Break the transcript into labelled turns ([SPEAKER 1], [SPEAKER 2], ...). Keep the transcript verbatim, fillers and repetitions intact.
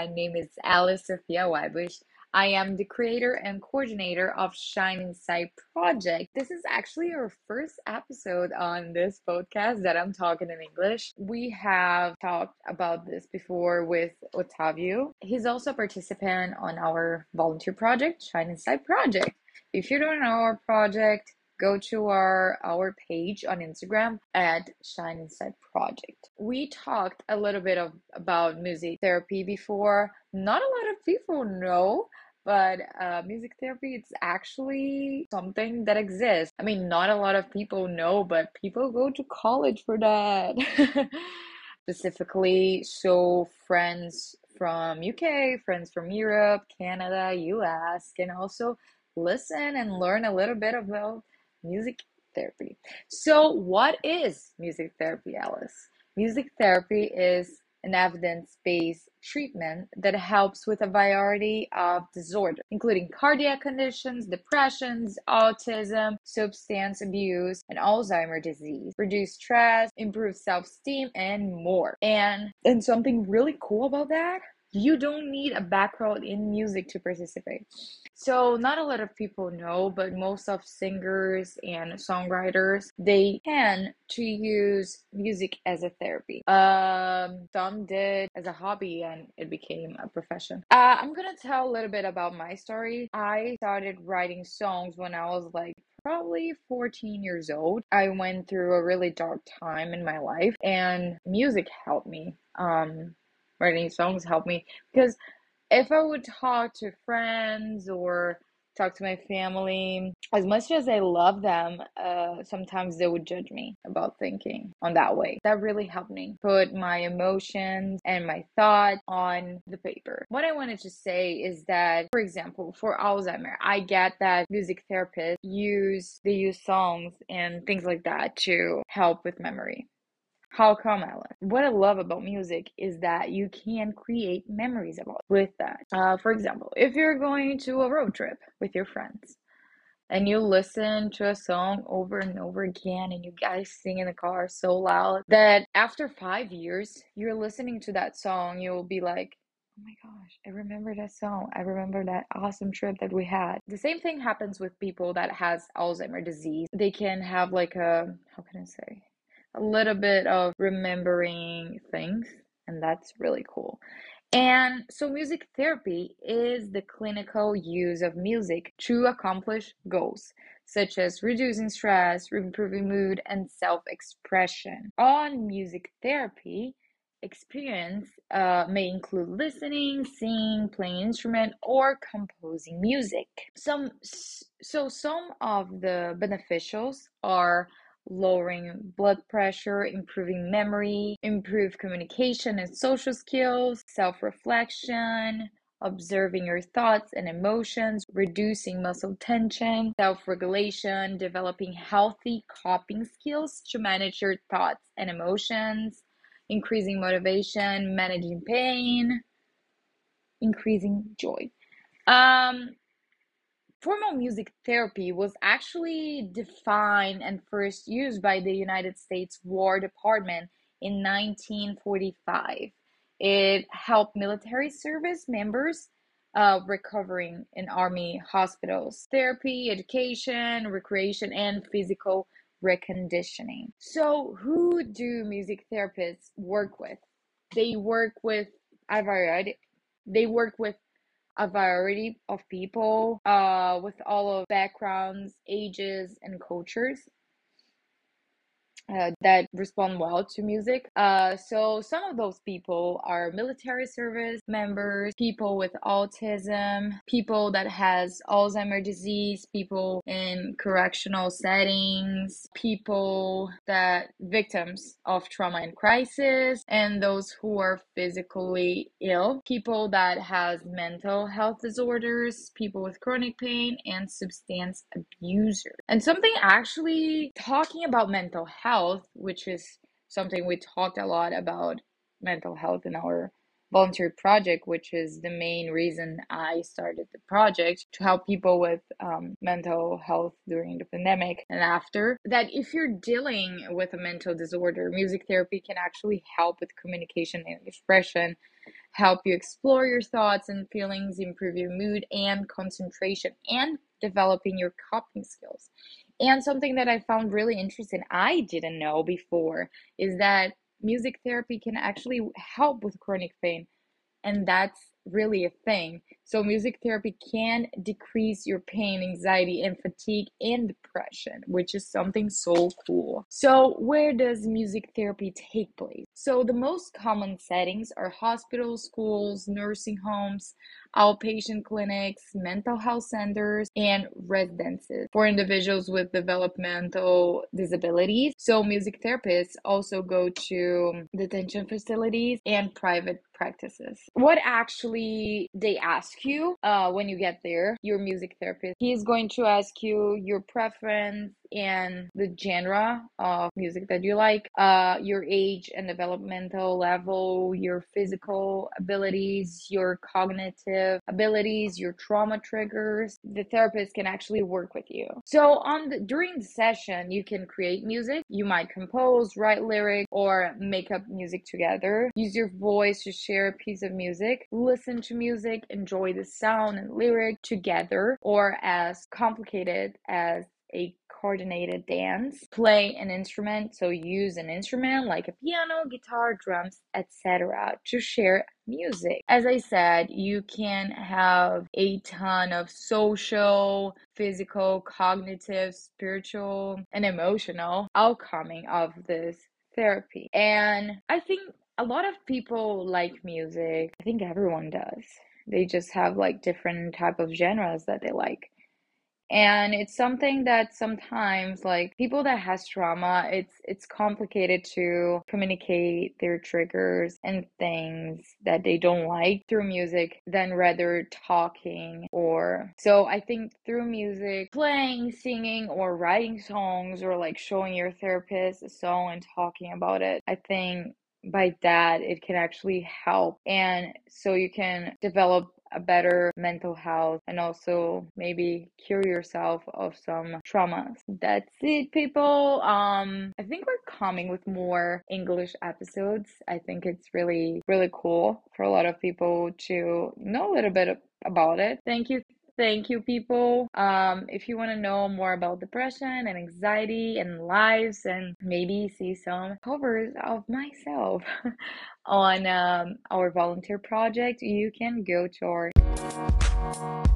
[SPEAKER 1] My name is Alice Sophia Weibush. I am the creator and coordinator of Shine Inside Project. This is actually our first episode on this podcast that I'm talking in English. We have talked about this before with Otavio. He's also a participant on our volunteer project, Shine Inside Project. If you don't know our project, go to our our page on Instagram at Shine Inside Project. We talked a little bit of about music therapy before. Not a lot of people know, but uh, music therapy it's actually something that exists. I mean, not a lot of people know, but people go to college for that. Specifically, so friends from U K, friends from Europe, Canada, U S can also listen and learn a little bit about music therapy. So, what is music therapy, Alice? Music therapy is an evidence-based treatment that helps with a variety of disorders, including cardiac conditions, depressions, autism, substance abuse, and Alzheimer's disease, reduce stress, improve self-esteem, and more. And and something really cool about that, you don't need a background in music to participate. So not a lot of people know, but most of singers and songwriters, they tend to use music as a therapy. Um, some did as a hobby and it became a profession. Uh, I'm gonna tell a little bit about my story. I started writing songs when I was like probably fourteen years old. I went through a really dark time in my life and music helped me. Um, writing songs helped me because if I would talk to friends or talk to my family, as much as I love them, uh, sometimes they would judge me about thinking on that way. That really helped me put my emotions and my thought on the paper. What I wanted to say is that, for example, for Alzheimer, I get that music therapists use, they use songs and things like that to help with memory. How come, Ellen? What I love about music is that you can create memories about with that. Uh, for example, if you're going to a road trip with your friends and you listen to a song over and over again and you guys sing in the car so loud that after five years, you're listening to that song, you'll be like, oh my gosh, I remember that song. I remember that awesome trip that we had. The same thing happens with people that has Alzheimer's disease. They can have like a, how can I say? a little bit of remembering things, and that's really cool. And so, music therapy is the clinical use of music to accomplish goals such as reducing stress, improving mood, and self expression. On music therapy, experience uh, may include listening, singing, playing instrument, or composing music. Some so some of the beneficials are lowering blood pressure, improving memory, improve communication and social skills, self-reflection, observing your thoughts and emotions, reducing muscle tension, self-regulation, developing healthy coping skills to manage your thoughts and emotions, increasing motivation, managing pain, increasing joy. Um, Formal music therapy was actually defined and first used by the United States War Department in nineteen forty-five. It helped military service members uh, recovering in army hospitals, therapy, education, recreation, and physical reconditioning. So, who do music therapists work with? They work with a variety. They work with a variety of people uh, with all of backgrounds, ages, and cultures uh, that respond well to music. Uh, so some of those people are military service members, people with autism, people that has Alzheimer's disease, people in correctional settings, people that victims of trauma and crisis, and those who are physically ill, people that has mental health disorders, people with chronic pain, and substance abusers. And something actually talking about mental health, which is something we talked a lot about mental health in our volunteer project, which is the main reason I started the project to help people with um, mental health during the pandemic and after. That if you're dealing with a mental disorder, music therapy can actually help with communication and expression, help you explore your thoughts and feelings, improve your mood and concentration, and developing your coping skills. And something that I found really interesting, I didn't know before, is that music therapy can actually help with chronic pain, and that's really a thing. So music therapy can decrease your pain, anxiety, and fatigue and depression, which is something so cool. So where does music therapy take place? So the most common settings are hospitals, schools, nursing homes, outpatient clinics, mental health centers, and residences for individuals with developmental disabilities. So music therapists also go to detention facilities and private practices. What actually they ask you uh, when you get there, your music therapist, he is going to ask you your preference and the genre of music that you like, uh, your age and developmental level, your physical abilities, your cognitive abilities, your trauma triggers. The therapist can actually work with you. So on the, during the session, you can create music. You might compose, write lyrics, or make up music together. Use your voice to share a piece of music. Listen to music, enjoy the sound and lyric together, or as complicated as a coordinated dance. Play an instrument, so use an instrument like a piano, guitar, drums, et cetera to share music. As I said, you can have a ton of social, physical, cognitive, spiritual, and emotional outcoming of this therapy. And I think a lot of people like music. I think everyone does. They just have like different type of genres that they like. And it's something that sometimes like people that has trauma, it's it's complicated to communicate their triggers and things that they don't like through music than rather talking. Or so I think through music, playing, singing, or writing songs, or like showing your therapist a song and talking about it, I think by that it can actually help, and so you can develop a better mental health and also maybe cure yourself of some traumas. That's it, people. um I think we're coming with more English episodes. I think it's really really cool for a lot of people to know a little bit about it. Thank you. Thank you, people. Um, if you want to know more about depression and anxiety and lives, and maybe see some covers of myself on um, our volunteer project, you can go to our